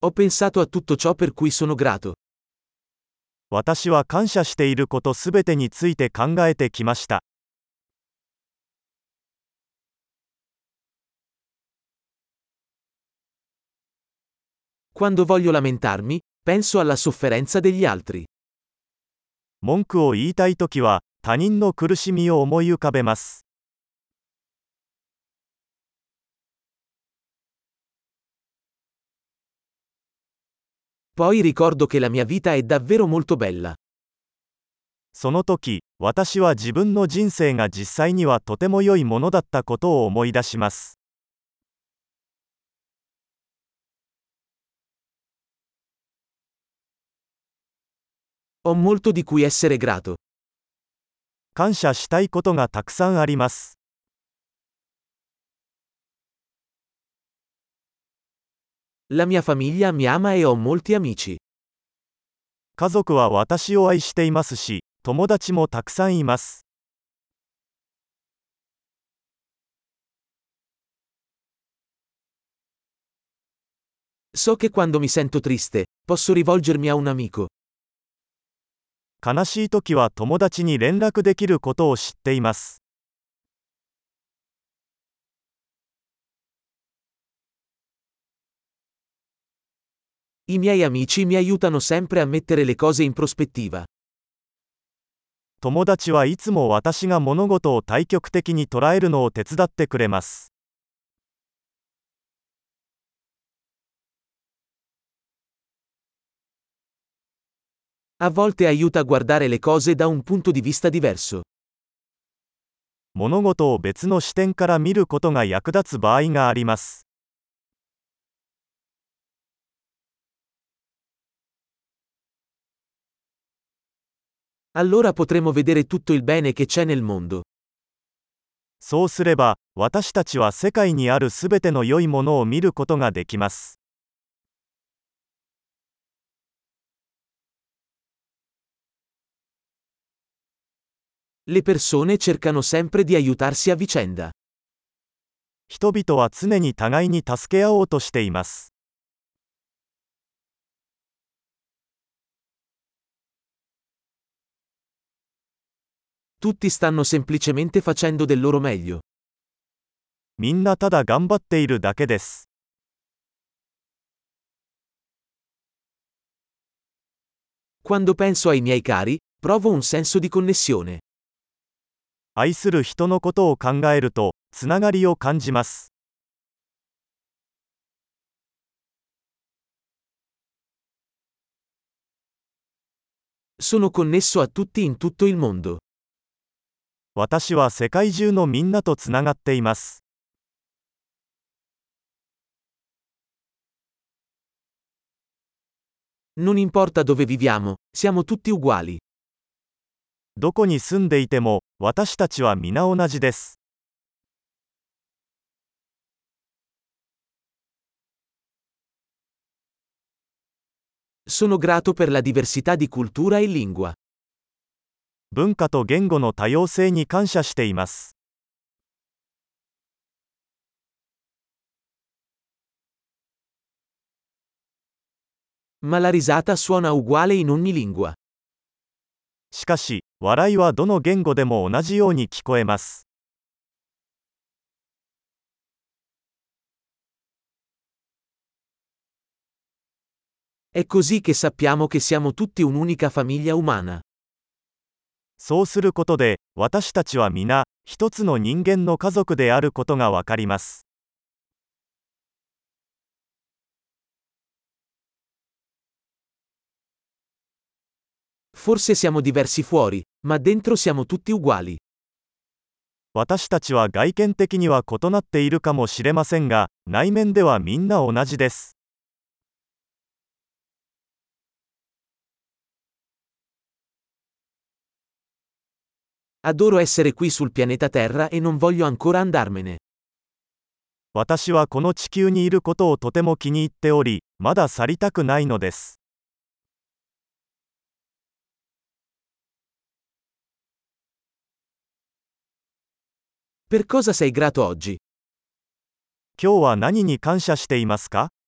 Ho pensato a tutto ciò per cui sono grato. 私は感謝していることすべてについて考えてきました。 Quando voglio lamentarmi, penso alla sofferenza degli altri. 文句を言いたいときは、他人の苦しみを思い浮かべます。 Poi ricordo che la mia vita è davvero molto bella. その時、私は自分の人生が実際にはとても良いものだったことを思い出します。 Ho molto di cui essere grato. 感謝したいことがたくさんあります。 La mia famiglia mi ama e ho molti amici. 家族は私を愛していますし、友達もたくさんいます。 So che quando mi sento triste, posso rivolgermi a un amico. 悲しいときは友達に連絡できることを知っています。 I miei amici mi aiutano sempre a mettere le cose in prospettiva. 友達はいつも私が物事を対極的に捉えるのを手伝ってくれます。 A volte aiuta a guardare le cose da un punto di vista diverso. 物事を別の視点から見ることが役立つ場合があります。 Allora potremo vedere tutto il bene che c'è nel mondo. そうすれば、私たちは世界にあるすべての良いものを見ることができます。 Le persone cercano sempre di aiutarsi a vicenda. 人々は常に互いに助け合おうとしています。 Tutti stanno semplicemente facendo del loro meglio. みんなただ頑張っているだけです。 Quando penso ai miei cari, provo un senso di connessione. 愛する人のことを考えると、つながりを感じます。 Sono connesso a tutti in tutto il mondo. 私は世界中のみんなとつながっています。 Non importa dove viviamo, siamo tutti uguali. どこに住んでいても、私たちは皆同じです。 Sono grato per la diversità di cultura e lingua. 文化と言語の多様性に感謝しています。 Ma la risata suona uguale in ogni lingua. しかし、笑いはどの言語でも同じように聞こえます。 È così che sappiamo che siamo tutti un'unica famiglia umana. そうすることで、私たちは皆、一つの人間の家族であることがわかります。 Forse siamo diversi fuori, ma dentro siamo tutti uguali. 私たちは外見的には異なっているかもしれませんが、内面ではみんな同じです。 Adoro essere qui sul pianeta Terra e non voglio ancora andarmene. 私はこの地球にいることをとても気に入っており、まだ去りたくないのです。 Per cosa sei grato oggi? 今日は何に感謝していますか？